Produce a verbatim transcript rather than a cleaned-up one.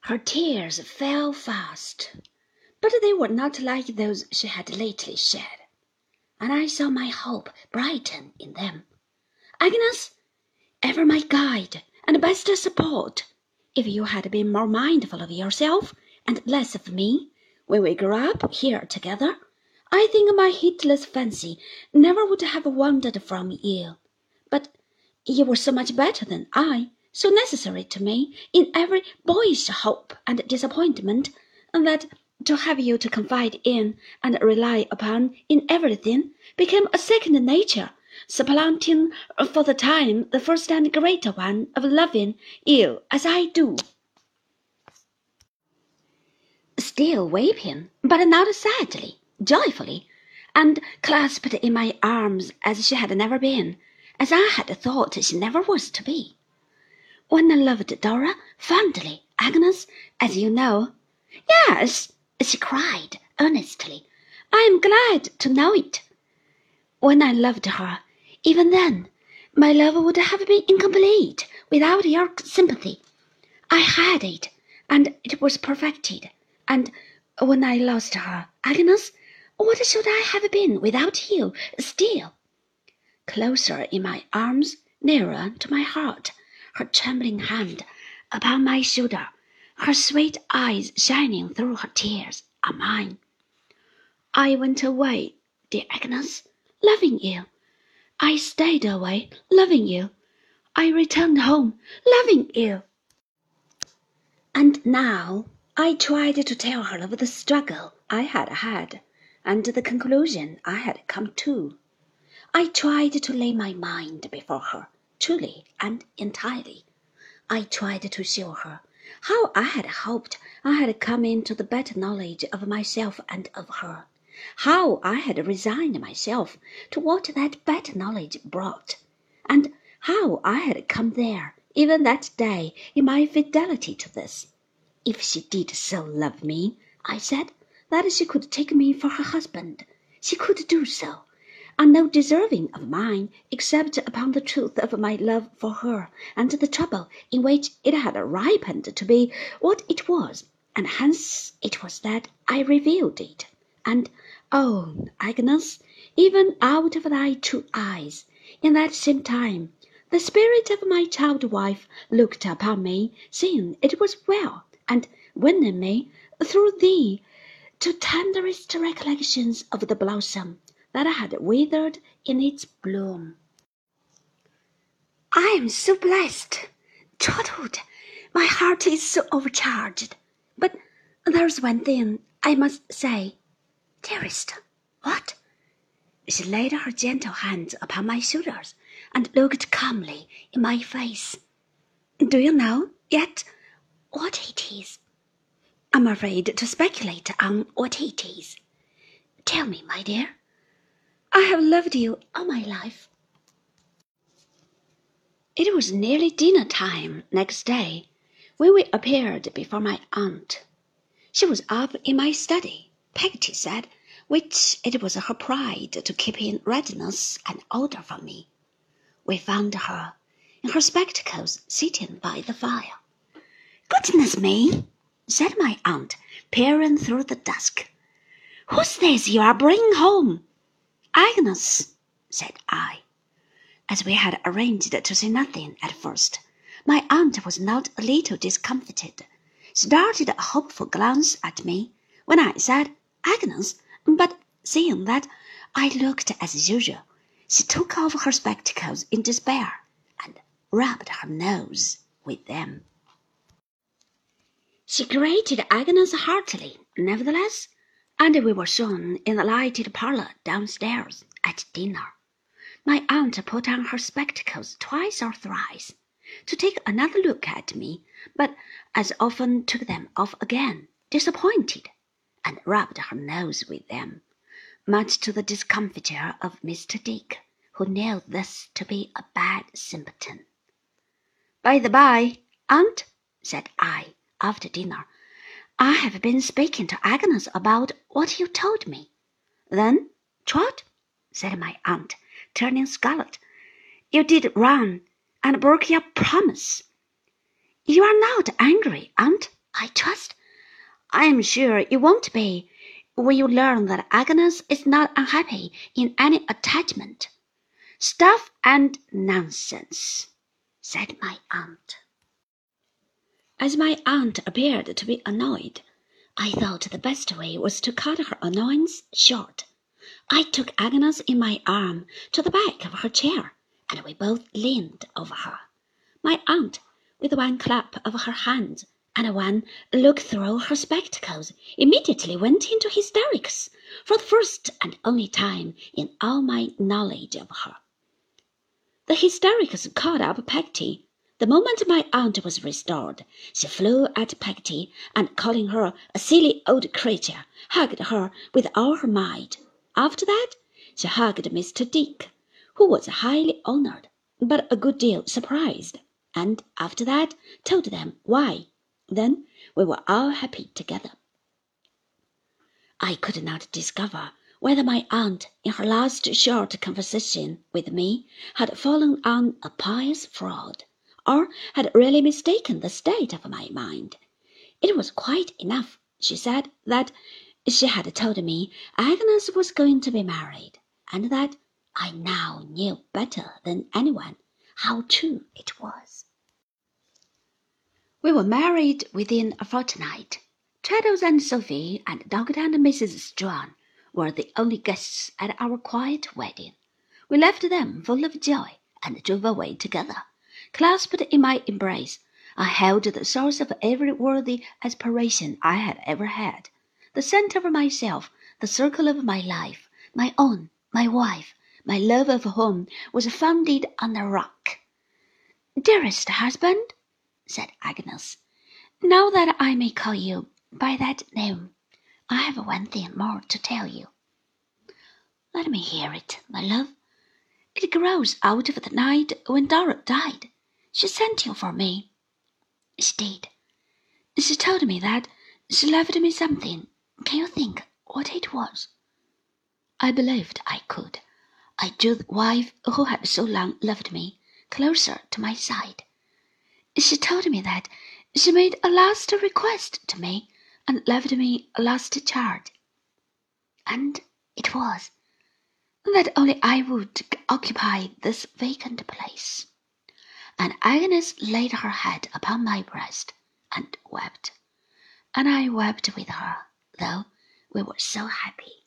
Her tears fell fast, but they were not like those she had lately shed, and I saw my hope brighten in them. Agnes, ever my guide and best support, if you had been more mindful of yourself and less of me when we grew up here together, I think my heedless fancy never would have wandered from you. But you were so much better than I, so necessary to me in every boyish hope and disappointment, that to have you to confide in and rely upon in everything became a second nature, supplanting for the time the first and greater one of loving you as I do. Still weeping, but not sadly, joyfully, and clasped in my arms as she had never been, as I had thought she never was to be. When I loved Dora fondly, Agnes, as you know. Yes, she cried earnestly, I am glad to know it. When I loved her, even then, my love would have been incomplete without your sympathy. I had it, and it was perfected. And when I lost her, Agnes, what should I have been without you still? Closer in my arms, nearer to my heart, her trembling hand upon my shoulder, her sweet eyes shining through her tears are mine. I went away, dear Agnes, loving you. I stayed away, loving you. I returned home, loving you. And now I tried to tell her of the struggle I had had, and the conclusion I had come to. I tried to lay my mind before her, truly and entirely. I tried to show her how I had hoped I had come into the better knowledge of myself and of her, how I had resigned myself to what that better knowledge brought, and how I had come there even that day in my fidelity to this. If she did so love me, I said, that she could take me for her husband, she could do so, and no deserving of mine except upon the truth of my love for her and the trouble in which it had ripened to be what it was, and hence it was that I revealed it. And, oh, Agnes, even out of thy two eyes, in that same time, the spirit of my child wife looked upon me, seeing it was well, and winning me through thee to tenderest recollections of the blossom that had withered in its bloom. I am so blessed, Trotwood, my heart is so overcharged. But there's one thing I must say. Dearest, what? She laid her gentle hands upon my shoulders and looked calmly in my face. Do you know yet what it is? I'm afraid to speculate on what it is. Tell me, my dear. I have loved you all my life. It was nearly dinner time next day when we appeared before my aunt. She was up in my study, Peggotty said, which it was her pride to keep in readiness and order for me. We found her in her spectacles sitting by the fire. Goodness me, said my aunt, peering through the dusk. Who's this you are bringing home? Agnes, said I. As we had arranged to say nothing at first, my aunt was not a little discomfited. She darted a hopeful glance at me when I said Agnes, but seeing that I looked as usual, she took off her spectacles in despair and rubbed her nose with them. She greeted Agnes heartily, nevertheless, and we were soon in the lighted parlour downstairs at dinner. My aunt put on her spectacles twice or thrice to take another look at me, but as often took them off again, disappointed, and rubbed her nose with them, much to the discomfiture of Mister Dick, who knew this to be a bad simpleton. By the by, aunt, said I, after dinner, I have been speaking to Agnes about what you told me. Then, Trot, said my aunt, turning scarlet, you did run and broke your promise. You are not angry, aunt, I trust, I am sure you won't be, when you learn that Agnes is not unhappy in any attachment. Stuff and nonsense, said my aunt. As my aunt appeared to be annoyed, I thought the best way was to cut her annoyance short. I took Agnes in my arm to the back of her chair, and we both leaned over her. My aunt, with one clap of her hands and one look through her spectacles, immediately went into hysterics, for the first and only time in all my knowledge of her. The hysterics caught up Peggotty. The moment my aunt was restored, she flew at Peggotty, and calling her a silly old creature, hugged her with all her might. After that, she hugged Mister Dick, who was highly honoured, but a good deal surprised, and after that told them why. Then we were all happy together. I could not discover whether my aunt, in her last short conversation with me, had fallen on a pious fraud, or had really mistaken the state of my mind. It was quite enough, she said, that she had told me Agnes was going to be married, and that I now knew better than anyone how true it was. We were married within a fortnight. Traddles and Sophie and Doctor and Missus Strong were the only guests at our quiet wedding. We left them full of joy and drove away together. Clasped in my embrace, I held the source of every worthy aspiration I had ever had, the centre of myself, the circle of my life, my own, my wife, my love of whom was founded on a rock. "Dearest husband," said Agnes, "now that I may call you by that name, I have one thing more to tell you." "Let me hear it, my love." "It grows out of the night when Dora died. She sent you for me." "She did. She told me that she left me something. Can you think what it was?" I believed I could. I drew the wife who had so long loved me closer to my side. "She told me that she made a last request to me and left me a last charge. And it was that only I would occupy this vacant place." And Agnes laid her head upon my breast and wept, and I wept with her, though we were so happy.